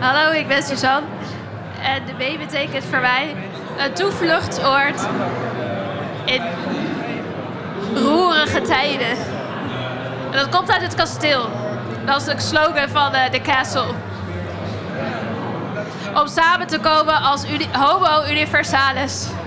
Hallo, ik ben Suzanne. En de B betekent voor mij een toevluchtsoord in roerige tijden. En dat komt uit het kasteel. Dat is de slogan van de castle. Om samen te komen als homo universalis.